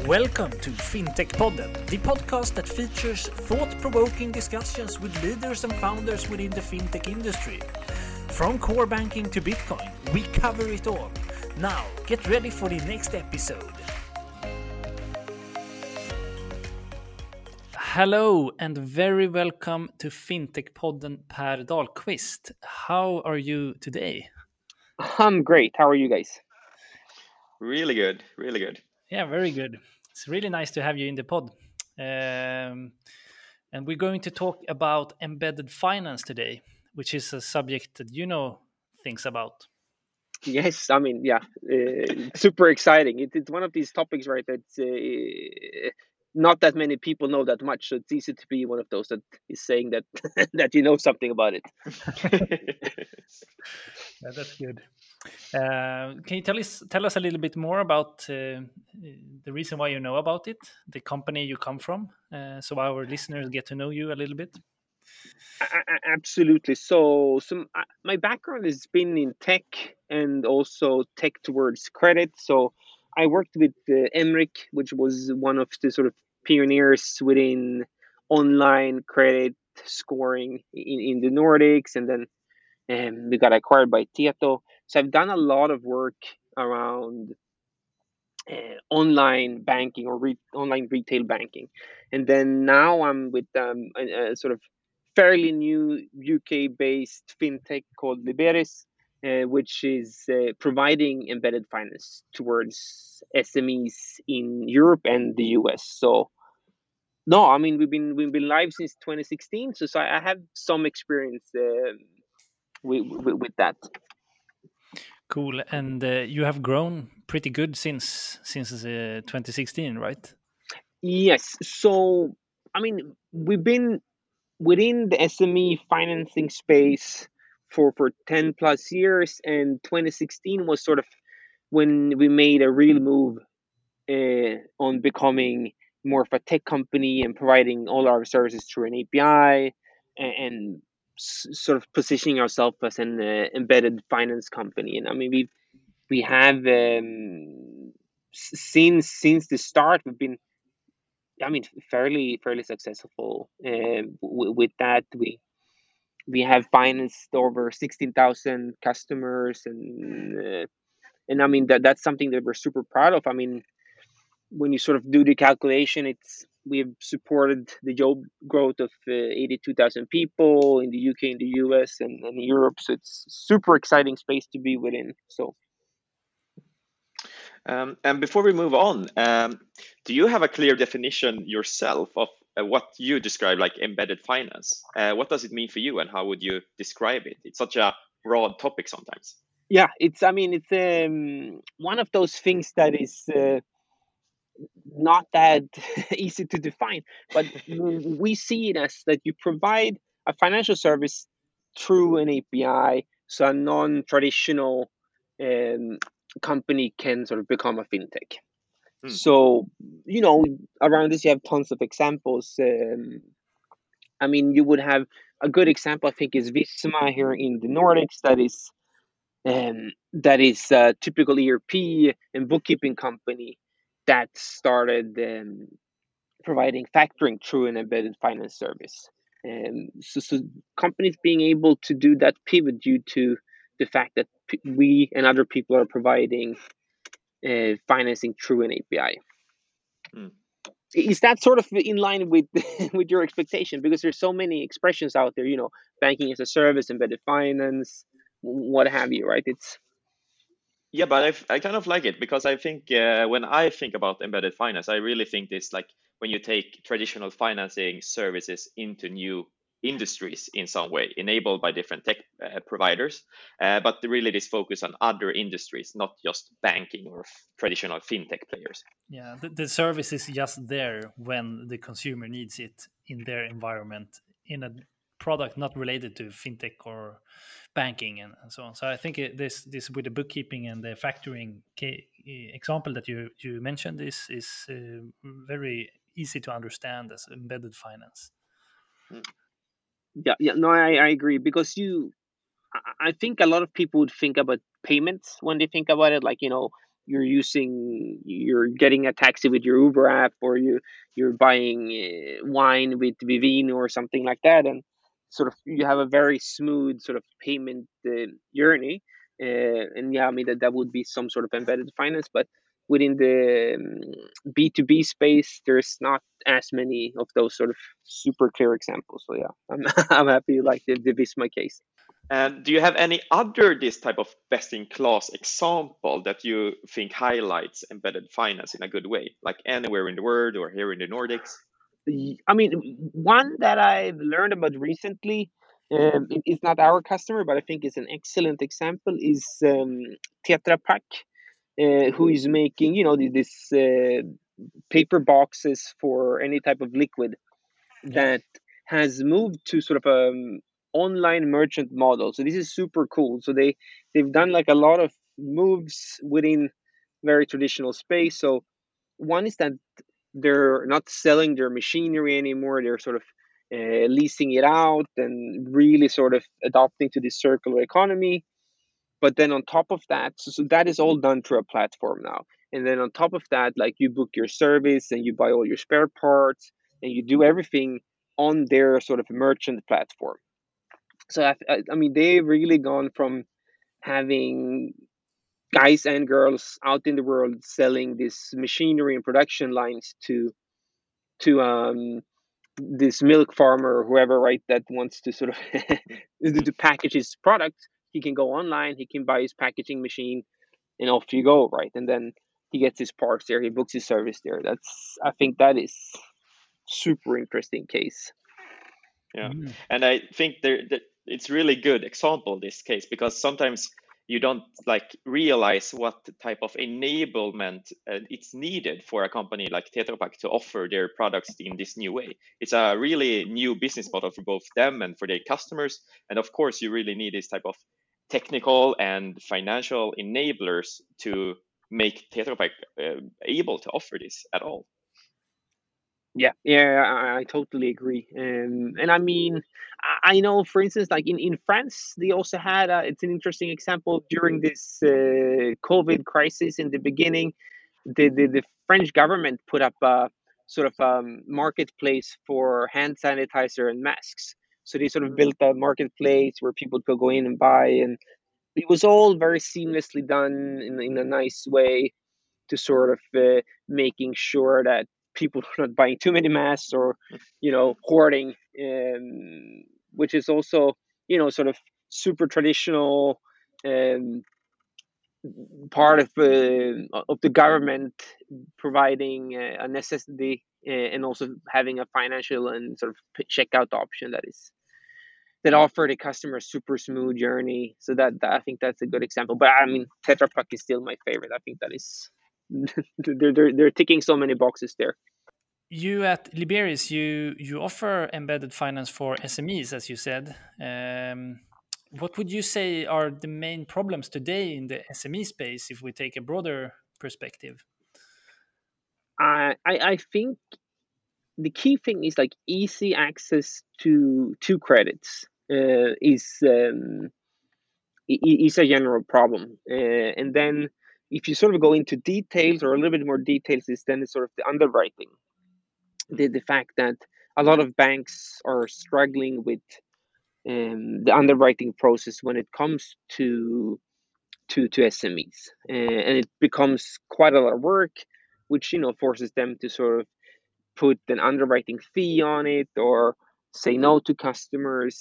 Welcome to FinTech-podden, the podcast that features thought-provoking discussions with leaders and founders within the fintech industry. From core banking to Bitcoin, we cover it all. Now, get ready for the next episode. Hello and very welcome to FinTech-podden, Per Dahlqvist. How are you today? I'm great. How are you guys? Really good, really good. Yeah, very good. It's really nice to have you in the pod. And we're going to talk about embedded finance today, which is a subject that you know things about. Yes, I mean, super exciting. It's one of these topics, right? That's not that many people know that much, so it's easy to be one of those that is saying that that you know something about it. Yeah, that's good. Can you tell us a little bit more about the reason why you know about it, the company you come from, so our listeners get to know you a little bit? Absolutely. So my background has been in tech and also tech towards credit. So I worked with Emric, which was one of the sort of pioneers within online credit scoring in the Nordics, and then we got acquired by Tieto. So I've done a lot of work around online banking or online retail banking, and then now I'm with a sort of fairly new UK-based fintech called Liberis, which is providing embedded finance towards SMEs in Europe and the US. So no, I mean we've been live since 2016, so I have some experience with that. Cool. And you have grown pretty good since 2016, right? Yes. So, I mean, we've been within the SME financing space for 10 plus years, and 2016 was sort of when we made a real move on becoming more of a tech company and providing all our services through an API and sort of positioning ourselves as an embedded finance company. And I mean, we have since the start we've been, I mean, fairly successful with that. We have financed over 16,000 customers, and I mean that's something that we're super proud of. I mean, when you sort of do the calculation, we've supported the job growth of 82,000 people in the UK, in the US, and Europe. So it's super exciting space to be within. So. And before we move on, do you have a clear definition yourself of what you describe like embedded finance? What does it mean for you, and how would you describe it? It's such a broad topic sometimes. Yeah, I mean, it's one of those things that is not that easy to define, but we see it as that you provide a financial service through an API, so a non-traditional company can sort of become a fintech. So, around this you have tons of examples. I mean, you would have a good example, I think, is Visma here in the Nordics. That is a typical ERP and bookkeeping company that started providing factoring through an embedded finance service. So companies being able to do that pivot due to the fact that we and other people are providing financing through an API. Is that sort of in line with with your expectation? Because there's so many expressions out there, banking as a service, embedded finance, what have you, right? Yeah, but I kind of like it because I think when I think about embedded finance, I really think this like when you take traditional financing services into new industries in some way, enabled by different tech providers, but really this focus on other industries, not just banking or traditional fintech players. Yeah, the service is just there when the consumer needs it in their environment, in a product not related to fintech or banking and so on. So I think this with the bookkeeping and the factoring example that you mentioned is very easy to understand as embedded finance. Yeah, no, I agree, because I think a lot of people would think about payments when they think about it, like you're getting a taxi with your Uber app, or you're buying wine with Vivino or something like that, and sort of you have a very smooth sort of payment journey. And yeah, I mean that would be some sort of embedded finance, but within the B2B space, there's not as many of those sort of super clear examples. So yeah, I'm I'm happy you like the Visma case. And do you have any other this type of best in class example that you think highlights embedded finance in a good way, like anywhere in the world or here in the Nordics? I mean, one that I've learned about recently, it's not our customer, but I think it's an excellent example, is Tetra Pak, who is making, this paper boxes for any type of liquid, Yeah. that has moved to sort of online merchant model. So this is super cool. So they've done like a lot of moves within very traditional space. So one is that they're not selling their machinery anymore. They're sort of leasing it out and really sort of adopting to this circular economy. But then on top of that, so that is all done through a platform now. And then on top of that, like you book your service and you buy all your spare parts and you do everything on their sort of merchant platform. So I mean, they've really gone from having guys and girls out in the world selling this machinery and production lines to this milk farmer or whoever, right, that wants to sort of to package his product. He can go online, he can buy his packaging machine, and off you go, right? And then he gets his parts there, he books his service there. I think that is super interesting case. Yeah, Mm. and I think that it's really good example this case because sometimes you don't like realize what type of enablement it's needed for a company like Tetra Pak to offer their products in this new way. It's a really new business model for both them and for their customers, and of course you really need this type of technical and financial enablers to make Tetra Pak able to offer this at all. Yeah, I totally agree. And I mean, I know, for instance, like in France, they also had it's an interesting example during this COVID crisis in the beginning. The French government put up a sort of marketplace for hand sanitizer and masks. So they sort of built a marketplace where people could go in and buy, and it was all very seamlessly done in a nice way to sort of making sure that people are not buying too many masks or hoarding, which is also sort of super traditional um, part of the government providing a necessity, and also having a financial and sort of checkout option that offer the customer a super smooth journey. So that I think that's a good example. But I mean, Tetra Pak is still my favorite. I think that is they're ticking so many boxes there. You at Liberis, you offer embedded finance for SMEs, as you said. What would you say are the main problems today in the SME space if we take a broader perspective? I think the key thing is like easy access to credits is a general problem, and then if you sort of go into details or a little bit more details, is then it's sort of the underwriting, the fact that a lot of banks are struggling with the underwriting process when it comes to SMEs, and it becomes quite a lot of work, which forces them to sort of put an underwriting fee on it or say no to customers.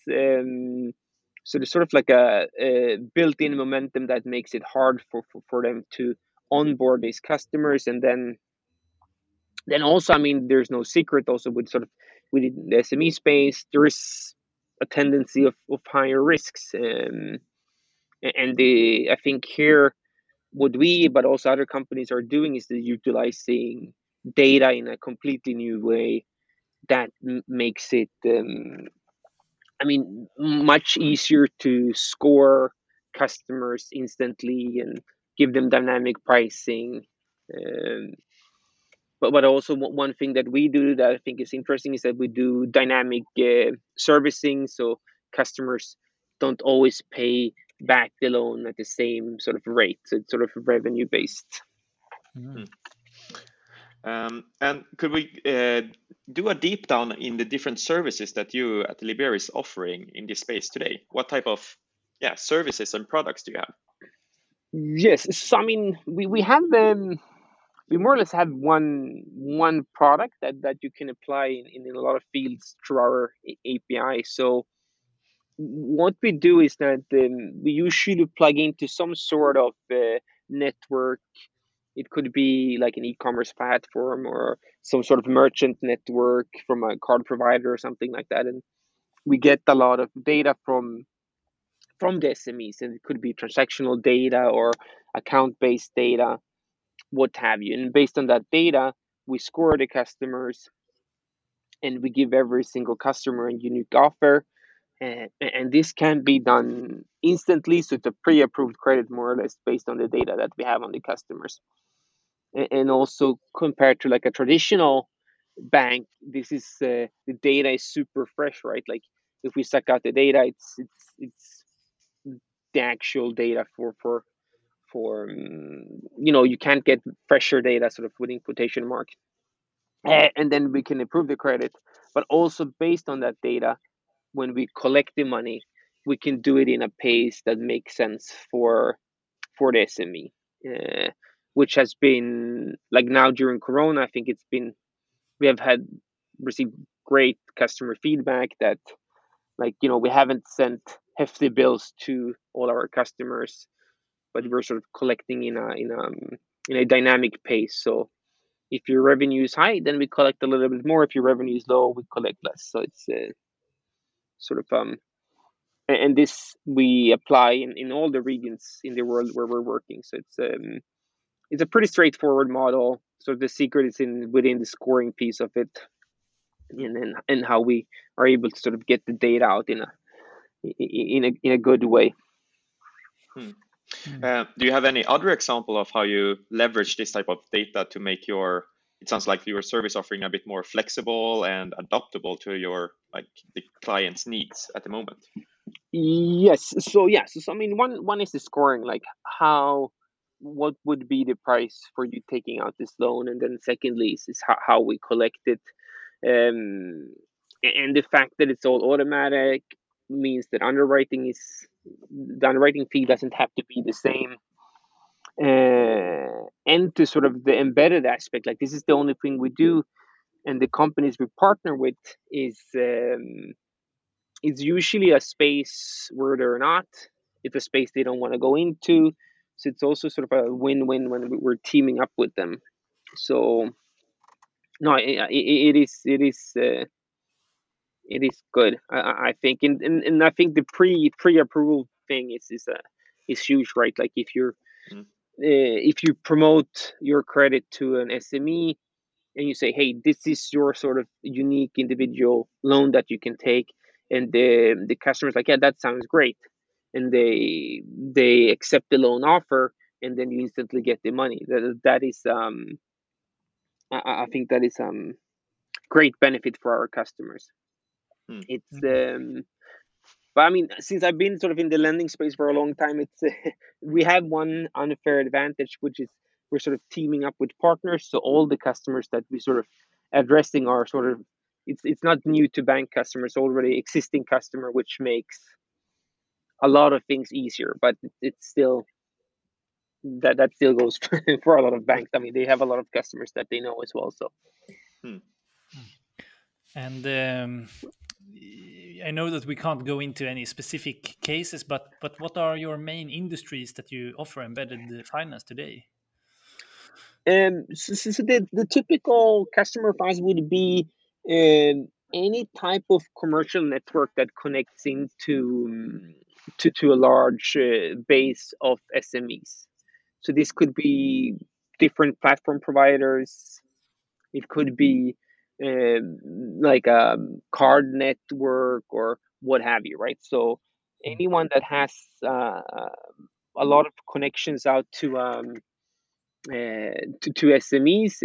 So there's sort of like a built-in momentum that makes it hard for them to onboard these customers. And then also, I mean, there's no secret also with sort of within the SME space, there is a tendency of higher risks. And I think here, what we, but also other companies are doing is they're utilizing data in a completely new way that makes it, I mean, much easier to score customers instantly and give them dynamic pricing. Um, but also one thing that we do that I think is interesting is that we do dynamic servicing, so customers don't always pay back the loan at the same sort of rate. So it's sort of revenue based. Mm. And could we do a deep down in the different services that you at Libera is offering in this space today? What type of services and products do you have? Yes, so I mean we have we more or less have one product that you can apply in a lot of fields through our API. So what we do is that we usually plug into some sort of network. It could be like an e-commerce platform or some sort of merchant network from a card provider or something like that, and we get a lot of data from the SMEs, and it could be transactional data or account-based data, what have you. And based on that data, we score the customers, and we give every single customer a unique offer. And this can be done instantly, so it's a pre-approved credit more or less based on the data that we have on the customers. And also compared to like a traditional bank, this is the data is super fresh, right? Like if we suck out the data, it's the actual data for you can't get fresher data sort of within quotation marks. And then we can improve the credit, but also based on that data, when we collect the money, we can do it in a pace that makes sense for the SME, which has been like now during Corona. I think we have received great customer feedback that we haven't sent hefty bills to all our customers, but we're sort of collecting in a dynamic pace. So if your revenue is high, then we collect a little bit more. If your revenue is low, we collect less. So it's sort of and this we apply in all the regions in the world where we're working. So it's a pretty straightforward model. So the secret is within the scoring piece of it, and how we are able to sort of get the data out in a good way. Do you have any other example of how you leverage this type of data to make it sounds like your service offering a bit more flexible and adaptable to the client's needs at the moment? Yes. So I mean, one is the scoring, like what would be the price for you taking out this loan, and then secondly is how we collect it, and the fact that it's all automatic means that the underwriting fee doesn't have to be the same. And to sort of the embedded aspect, like this is the only thing we do, and the companies we partner with is it's usually a space where they're not. It's a space they don't want to go into. So it's also sort of a win-win when we're teaming up with them. So no, it is good. I think, and I think the pre-approval thing is huge, right? Like if you promote your credit to an SME and you say, hey, this is your sort of unique individual loan that you can take, and the customer's like, yeah, that sounds great, and they accept the loan offer, and then you instantly get the money. That is I think that is great benefit for our customers. It's but I mean, since I've been sort of in the lending space for a long time, it's we have one unfair advantage, which is we're sort of teaming up with partners. So all the customers that we sort of addressing are sort of it's not new to bank customers, already existing customer, which makes a lot of things easier. But it's still that still goes for a lot of banks. I mean, they have a lot of customers that they know as well. So. And I know that we can't go into any specific cases, but what are your main industries that you offer embedded finance today? So the typical customer for us would be any type of commercial network that connects into to a large base of SMEs. So this could be different platform providers. It could be like a card network or what have you, right? So anyone that has a lot of connections out to SMEs,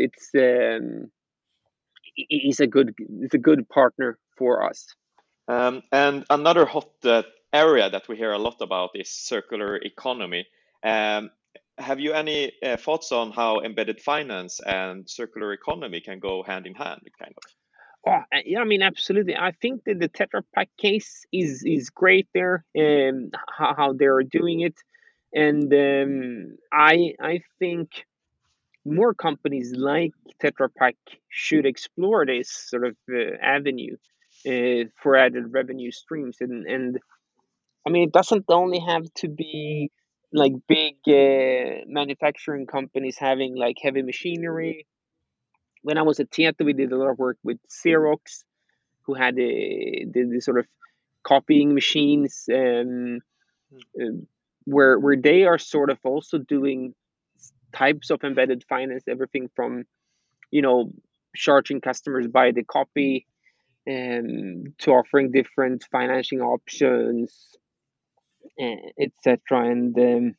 it's a good partner for us. And another hot area that we hear a lot about is circular economy. Um, have you any thoughts on how embedded finance and circular economy can go hand in hand, kind of? Oh, yeah, I mean, absolutely. I think that the Tetra Pak case is great there, how they're doing it, and I think more companies like Tetra Pak should explore this sort of avenue for added revenue streams, and I mean, it doesn't only have to be like big manufacturing companies having like heavy machinery. When I was at Tieto, we did a lot of work with Xerox, who had the sort of copying machines, uh, where they are sort of also doing types of embedded finance, everything from charging customers by the copy, to offering different financing options, etc. And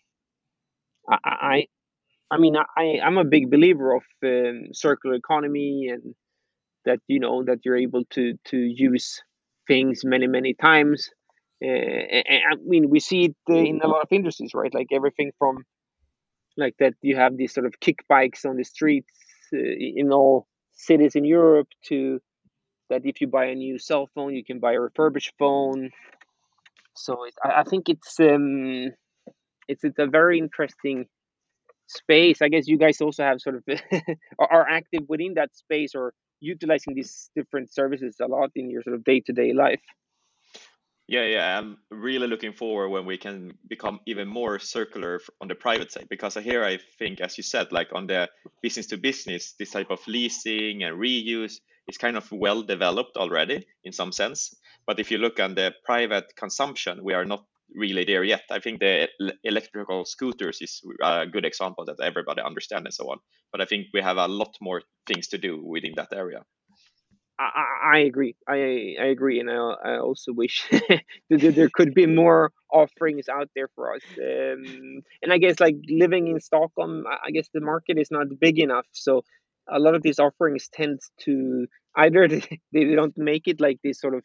I, I mean, I'm a big believer of circular economy, and that that you're able to use things many times. And I mean, we see it in a lot of industries, right? Like everything from like that you have these sort of kick bikes on the streets in all cities in Europe, to that if you buy a new cell phone, you can buy a refurbished phone. So I think it's a very interesting space. I guess you guys also have sort of are active within that space, or utilizing these different services a lot in your sort of day-to-day life. Yeah, I'm really looking forward when we can become even more circular on the private side, because here I think, as you said, like on the business to business, this type of leasing and reuse is kind of well developed already in some sense. But if you look on the private consumption, we are not really there yet. I think the electrical scooters is a good example that everybody understands and so on. But I think we have a lot more things to do within that area. I agree. I agree, and I also wish that there could be more offerings out there for us. And I guess like living in Stockholm, I guess the market is not big enough, so a lot of these offerings tend to either they don't make it, like this sort of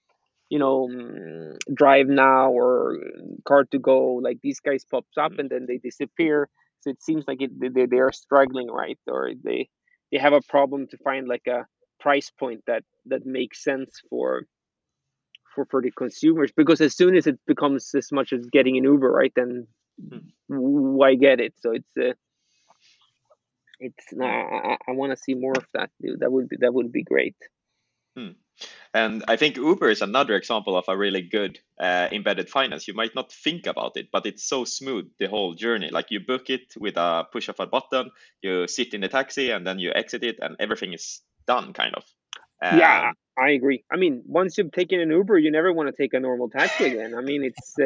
drive now or car to go, like these guys pops up and then they disappear. So it seems like they are struggling, right? Or they have a problem to find like a price point that makes sense for the consumers, because as soon as it becomes as much as getting an Uber, right, then why get it? So I want to see more of that, dude. That would be great. Hmm. And I think Uber is another example of a really good embedded finance. You might not think about it, but it's so smooth the whole journey. Like you book it with a push of a button, you sit in the taxi, and then you exit it, and everything is done, kind of. Yeah, Um, I agree. I mean, once you've taken an Uber, you never want to take a normal taxi again. I mean, it's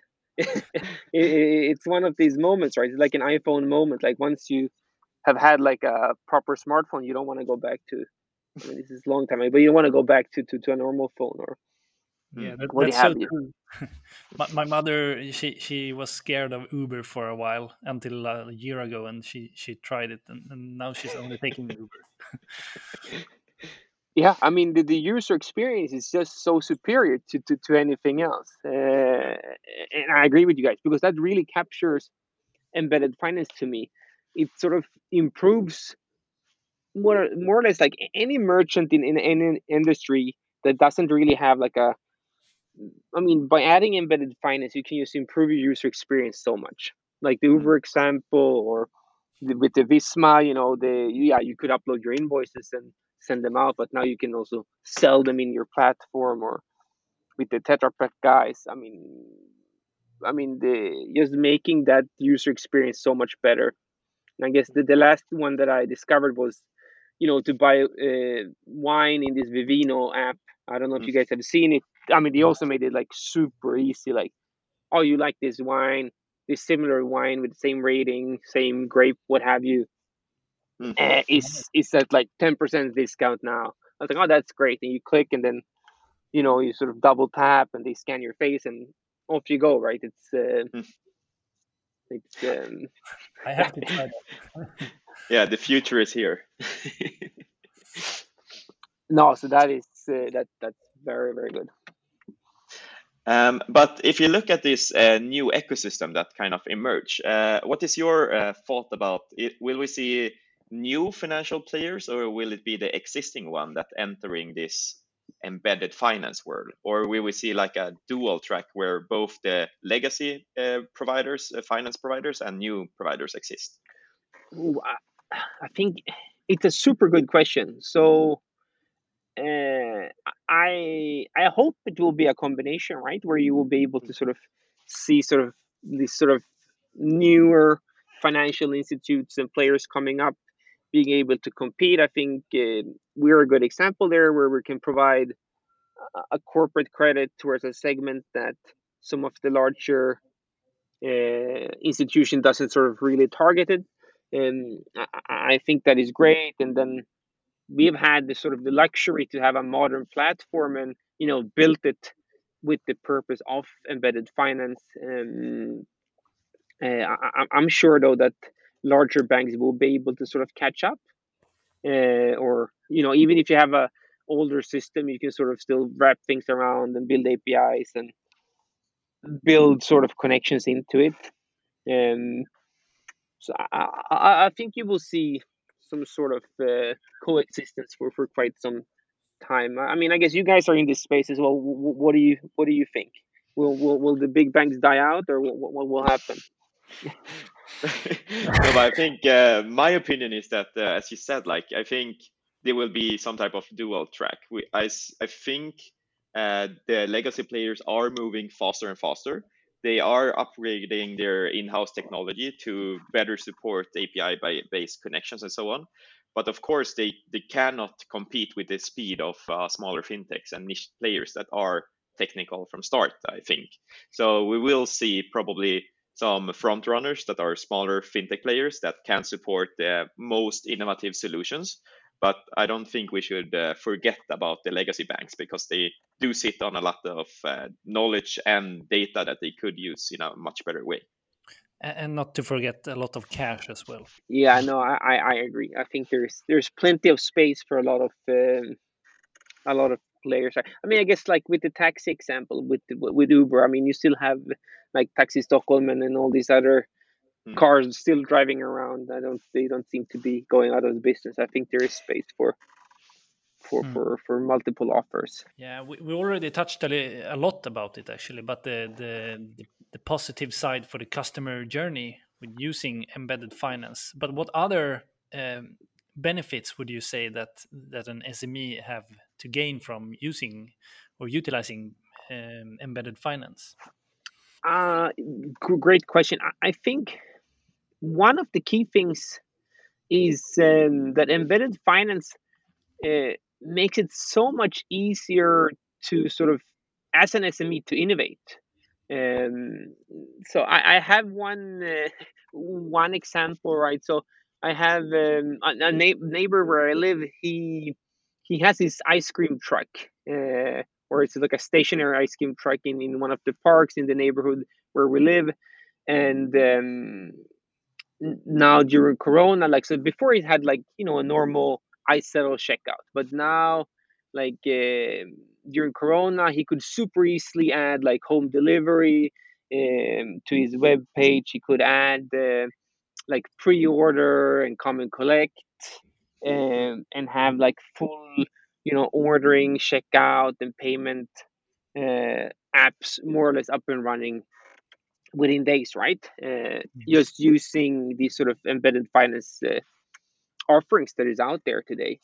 it's one of these moments, right? It's like an iPhone moment. Like once you have had like a proper smartphone, you don't want to go back to. I mean, this is a long time, but you don't want to go back to a normal phone or Yeah, what that's have so you. true. My mother, she was scared of Uber for a while until a year ago, and she tried it, and now she's only taking Uber. Yeah, I mean the user experience is just so superior to anything else, and I agree with you guys, because that really captures embedded finance to me. It sort of improves more or less like any merchant in any industry that doesn't really have like a. I mean, by adding embedded finance, you can just improve your user experience so much. Like the mm, Uber example, or with the Visma, you could upload your invoices and send them out, but now you can also sell them in your platform, or with the Tetra Pak guys. I mean, the just making that user experience so much better. And I guess the last one that I discovered was, to buy wine in this Vivino app. I don't know if mm, you guys have seen it. I mean, they also made it like super easy. Like, oh, you like this wine, this similar wine with the same rating, same grape, what have you, mhm. is at like 10% discount now. I was like, oh, that's great. And you click, and then you sort of double tap, and they scan your face, and off you go. Right? It's I have to try that. Yeah, the future is here. no. So that is that's very very good. But if you look at this new ecosystem that kind of emerged, what is your thought about it? Will we see new financial players, or will it be the existing one that entering this embedded finance world, or will we see like a dual track where both the legacy providers, finance providers, and new providers exist? Ooh, I think it's a super good question. So I hope it will be a combination, right, where you will be able to sort of see sort of these sort of newer financial institutes and players coming up, being able to compete. I think we're a good example there, where we can provide a corporate credit towards a segment that some of the larger institution doesn't sort of really target it. And I think that is great. And then we've had the sort of the luxury to have a modern platform, and built it with the purpose of embedded finance. I'm sure though that larger banks will be able to sort of catch up, or even if you have a older system, you can sort of still wrap things around and build APIs and build sort of connections into it. Um, so I think you will see some sort of coexistence for quite some time. I mean, I guess you guys are in this space as well. What do you think? Will the big banks die out, or what will happen? No, but I think my opinion is that, as you said, like I think there will be some type of dual track. I think the legacy players are moving faster and faster. They are upgrading their in-house technology to better support API-based connections and so on. But of course, they cannot compete with the speed of smaller fintechs and niche players that are technical from start, I think. So we will see probably some front runners that are smaller fintech players that can support the most innovative solutions. But I don't think we should forget about the legacy banks, because they do sit on a lot of knowledge and data that they could use in a much better way. And not to forget a lot of cash as well. Yeah, no, I agree. I think there's plenty of space for a lot of players. I mean, I guess like with the taxi example with Uber, I mean, you still have like Taxi Stockholm and all these other cars still driving around. They don't seem to be going out of business. I think there is space for multiple offers. Yeah, we already touched a lot about it actually, but the positive side for the customer journey with using embedded finance. But what other benefits would you say that an SME have to gain from using or utilizing embedded finance? Great question. I think one of the key things is that embedded finance makes it so much easier to sort of, as an SME, to innovate. So I have one example, right? So I have a neighbor where I live. He has his ice cream truck, or it's like a stationary ice cream truck in one of the parks in the neighborhood where we live. And now during Corona, like, so before he had like a normal ice settle checkout, but now like during Corona he could super easily add like home delivery to his web page. He could add like pre-order and come and collect, and have like full ordering, checkout, and payment apps more or less up and running within days, right? Just using these sort of embedded finance offerings that is out there today.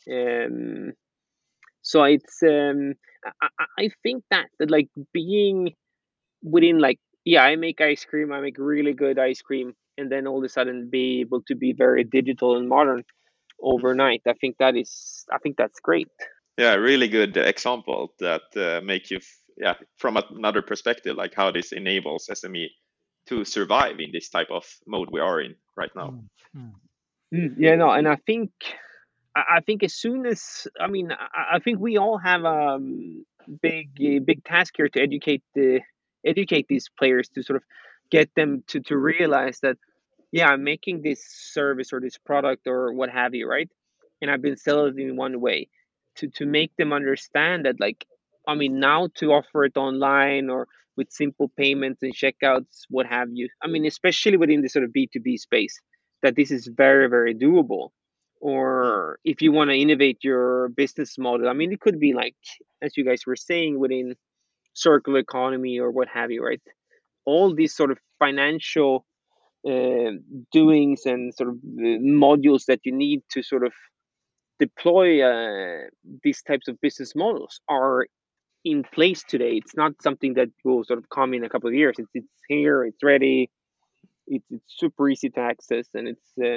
So it's I think that like being within, like, yeah, I make ice cream, I make really good ice cream, and then all of a sudden be able to be very digital and modern overnight. I think that's great. Yeah, really good example that make you, yeah, from another perspective, like how this enables SME to survive in this type of mode we are in right now. Yeah, no, and I think as soon as, I mean, I think we all have a big task here to educate these players, to sort of get them to realize that, yeah, I'm making this service or this product or what have you, right? And I've been selling it in one way, to make them understand that, like, I mean, now to offer it online or with simple payments and checkouts, what have you. I mean, especially within the sort of B2B space, that this is very, very doable. Mm. Or if you want to innovate your business model, I mean, it could be like, as you guys were saying, within circular economy or what have you, right? All these sort of financial uh, doings and sort of modules that you need to sort of deploy these types of business models are in place today. It's not something that will sort of come in a couple of years. It's here. It's ready. It's super easy to access, and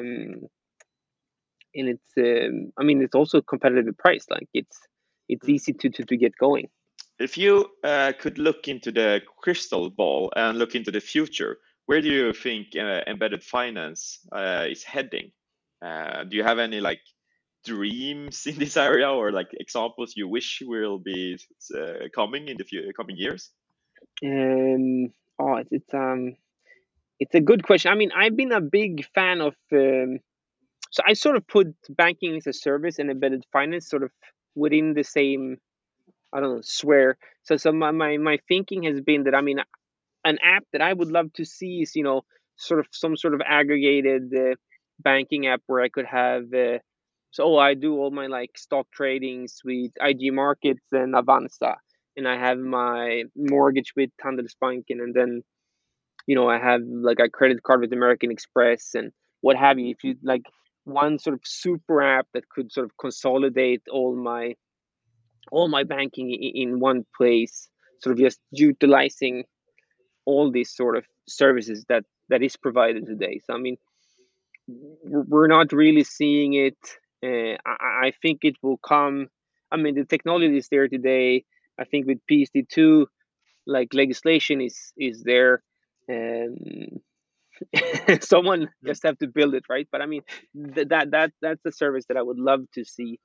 it's I mean, it's also competitively priced. Like it's Mm. easy to get going. If you could look into the crystal ball and look into the future, where do you think embedded finance is heading? Do you have any like dreams in this area or like examples you wish will be coming in the coming years? Um, oh, it's a good question. I mean, I've been a big fan of. So I sort of put banking as a service and embedded finance sort of within the same, I don't know, sphere. So my thinking has been that, I mean, an app that I would love to see is, sort of some sort of aggregated banking app where I could have. So I do all my like stock tradings with IG Markets and Avanza, and I have my mortgage with Handelsbanken, and then I have like a credit card with American Express and what have you. If you like one sort of super app that could sort of consolidate all my banking in one place, sort of just utilizing all these sort of services that is provided today. So I mean, we're not really seeing it. I think it will come. I mean, the technology is there today. I think with PSD2, like legislation is there. Um, Someone Mm. just have to build it, right? But I mean, that's the service that I would love to see.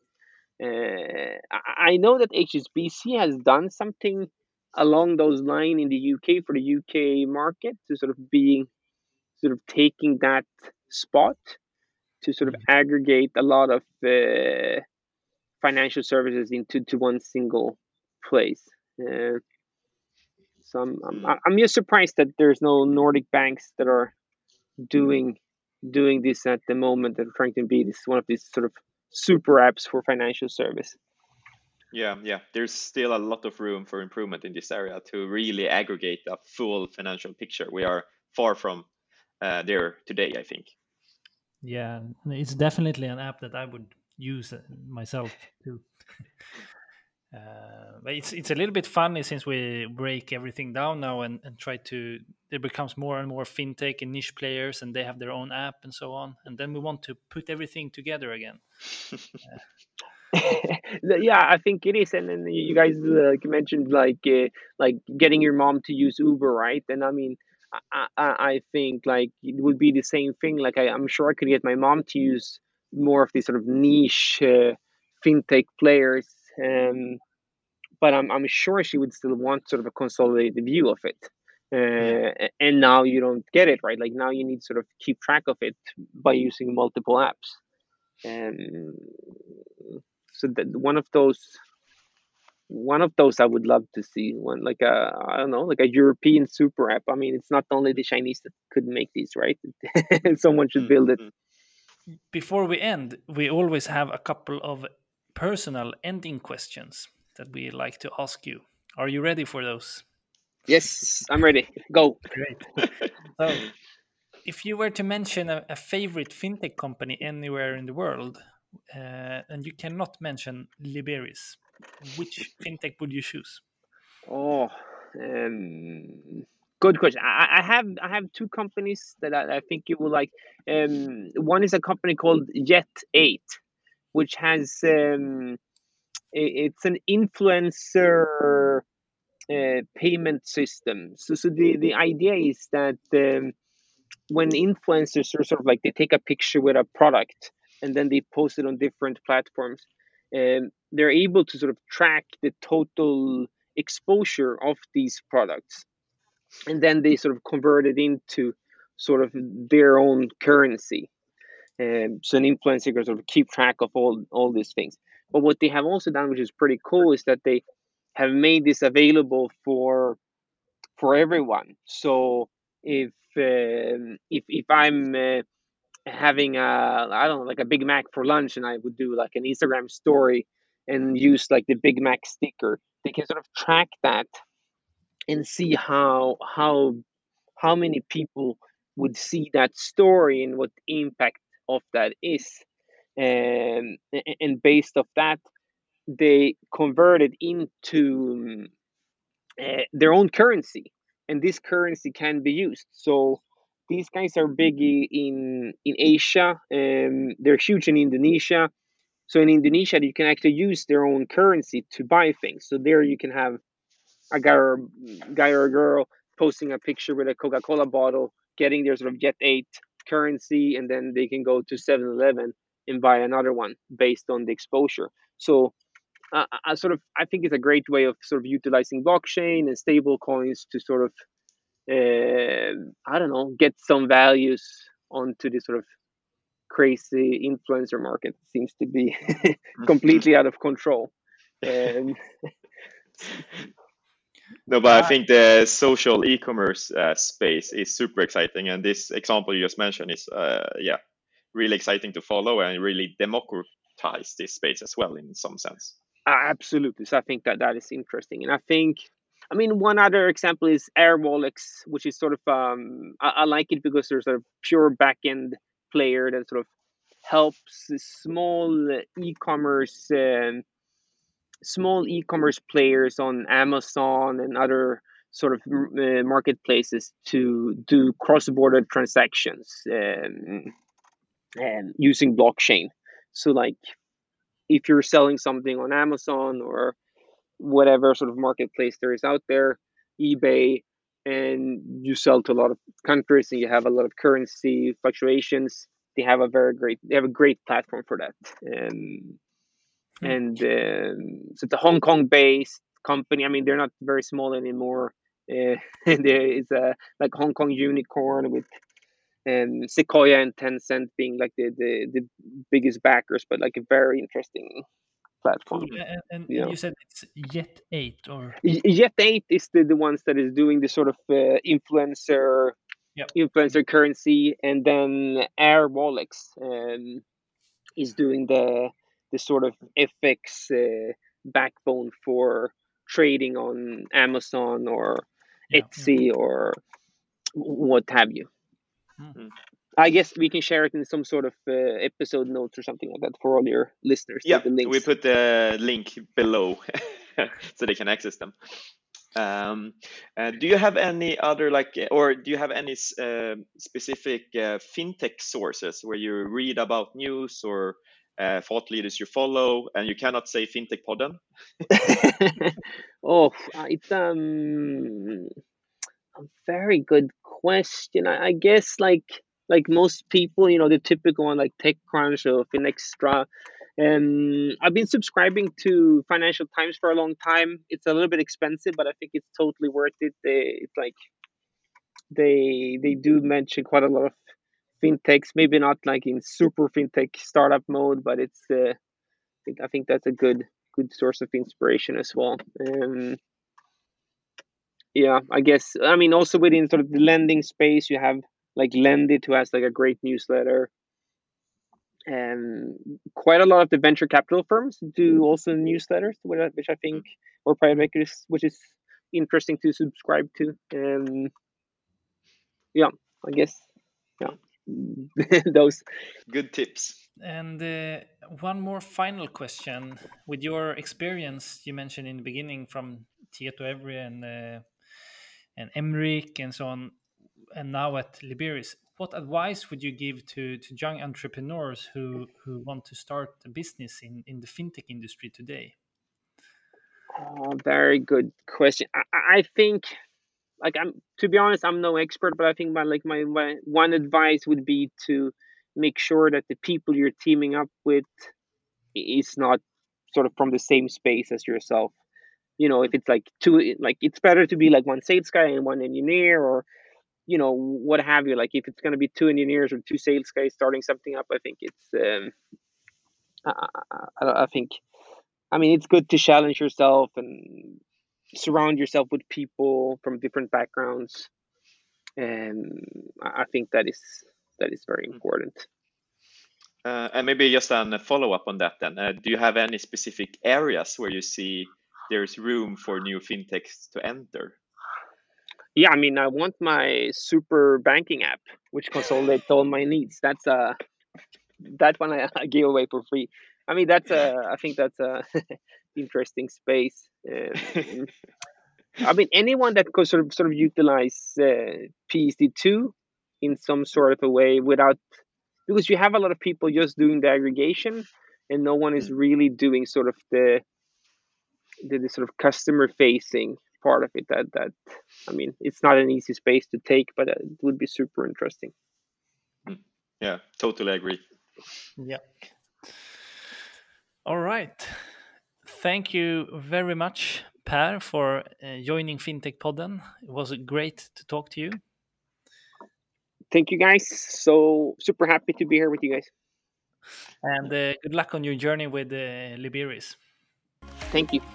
I know that HSBC has done something along those lines in the UK for the UK market, to sort of being sort of taking that spot to sort of Mm. aggregate a lot of financial services into to one single place. Uh, so Mm. I'm just surprised that there's no Nordic banks that are doing doing this at the moment, that are trying to be this one of these sort of super apps for financial service. Yeah, yeah. There's still a lot of room for improvement in this area to really aggregate a full financial picture. We are far from there today, I think. Yeah, it's definitely an app that I would use myself too. But it's a little bit funny since we break everything down now and try to. There becomes more and more fintech and niche players, and they have their own app and so on. And then we want to put everything together again. Yeah, I think it is. And then you guys mentioned like getting your mom to use Uber, right? And I mean, I think like it would be the same thing. Like I'm sure I could get my mom to use more of these sort of niche fintech players, but I'm sure she would still want sort of a consolidated view of it. Yeah. And now you don't get it, right. Like now you need to sort of keep track of it by using multiple apps. Um, so that one of those I would love to see, one like a, I don't know, like a European super app. I mean, it's not only the Chinese that could make these, right? Someone should Mm, build it. mm. Before we end, we always have a couple of personal ending questions that we like to ask you. Are you ready for those? Yes, I'm ready. Go. Great. So, if you were to mention a favorite fintech company anywhere in the world, and you cannot mention Liberis, which fintech would you choose? Oh, good question. I have two companies that I think you will like. One is a company called Jet8, which has it's an influencer payment system. So the idea is that when influencers are sort of like, they take a picture with a product and then they post it on different platforms, they're able to sort of track the total exposure of these products, and then they sort of convert it into sort of their own currency. So an influencer can sort of keep track of all these things. But what they have also done, which is pretty cool, is that they have made this available for for everyone. So if I'm having a, I don't know, like a Big Mac for lunch, and I would do like an Instagram story and use like the Big Mac sticker, they can sort of track that and see how many people would see that story and what the impact of that is. And based off that, they convert it into their own currency, and this currency can be used. So these guys are big in Asia, and they're huge in Indonesia. So in Indonesia, you can actually use their own currency to buy things. So there you can have a guy or a girl posting a picture with a Coca-Cola bottle, getting their sort of Jet 8 currency, and then they can go to 7-Eleven and buy another one based on the exposure. So I think it's a great way of sort of utilizing blockchain and stable coins to sort of I don't know, get some values onto this sort of crazy influencer market. It seems to be completely out of control. Um, No, but I think the social e-commerce space is super exciting, and this example you just mentioned is, yeah, really exciting to follow and really democratize this space as well in some sense. Absolutely. So I think that is interesting, and I think, I mean, one other example is Airwallex, which is sort of I like it because there's a pure backend player that sort of helps small e-commerce players on Amazon and other sort of marketplaces to do cross-border transactions and using blockchain. So like if you're selling something on Amazon or whatever sort of marketplace there is out there, eBay, and you sell to a lot of countries and you have a lot of currency fluctuations, they have a great platform for that. And so it's a Hong Kong based company. I mean, they're not very small anymore. There is a like Hong Kong unicorn with Sequoia and Tencent being like the biggest backers, but like a very interesting platform. Cool. And You know, you said it's Jet 8 or Jet 8 is the ones that is doing the sort of yep. influencer currency, and then Airwallex is doing the sort of FX backbone for trading on Amazon or Yeah. Etsy or what have you. Mm. I guess we can share it in some sort of episode notes or something like that for all your listeners. Yeah, the links. we put the link below so they can access them. Do you have any other or do you have any specific fintech sources where you read about news or thought leaders you follow, and you cannot say Fintech Podden? Oh, it's a very good question. I guess like most people, you know, the typical one like TechCrunch or Finextra. I've been subscribing to Financial Times for a long time. It's a little bit expensive, but I think it's totally worth it. It's like they do mention quite a lot of fintechs. Maybe not like in super fintech startup mode, but it's I think that's a good source of inspiration as well. Yeah, I guess. I mean, also within sort of the lending space, you have like Lendit, who has like a great newsletter, and quite a lot of the venture capital firms do also newsletters, which I think, or private equities, which is interesting to subscribe to. Yeah, I guess. Yeah, those. Good tips. And one more final question. With your experience, you mentioned in the beginning from Tietoevry and Emric and so on, and now at Liberis, what advice would you give to young entrepreneurs who want to start a business in the fintech industry today? Very good question. I think, like, I'm to be honest, I'm no expert, but I think my one advice would be to make sure that the people you're teaming up with is not sort of from the same space as yourself. You know, if it's like two, like it's better to be like one sales guy and one engineer, or you know, what have you. Like if it's going to be two engineers or two sales guys starting something up, I think it's I think, I mean, it's good to challenge yourself and surround yourself with people from different backgrounds. I think that is very important. And maybe just a follow-up on that then. Do you have any specific areas where you see there's room for new fintechs to enter? Yeah, I mean, I want my super banking app, which consolidates all my needs. That's that one I give away for free. I mean, I think that's a interesting space. I mean, anyone that could sort of utilize PSD2 in some sort of a way because you have a lot of people just doing the aggregation, and no one is really doing sort of the sort of customer facing part of it. That I mean, it's not an easy space to take, but it would be super interesting. Yeah, totally agree. Yeah. All right. Thank you very much, Per, for joining Fintech Podden. It was great to talk to you. Thank you, guys. So super happy to be here with you guys. And good luck on your journey with Liberis. Thank you.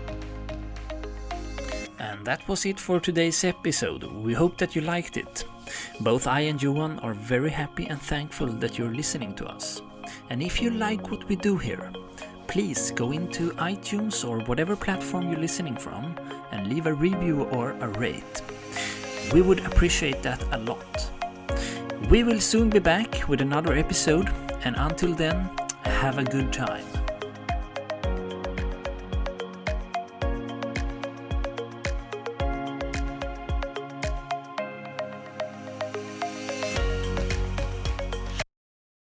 And that was it for today's episode. We hope that you liked it. Both I and Johan are very happy and thankful that you're listening to us. And if you like what we do here, please go into iTunes or whatever platform you're listening from and leave a review or a rate. We would appreciate that a lot. We will soon be back with another episode, and until then, have a good time.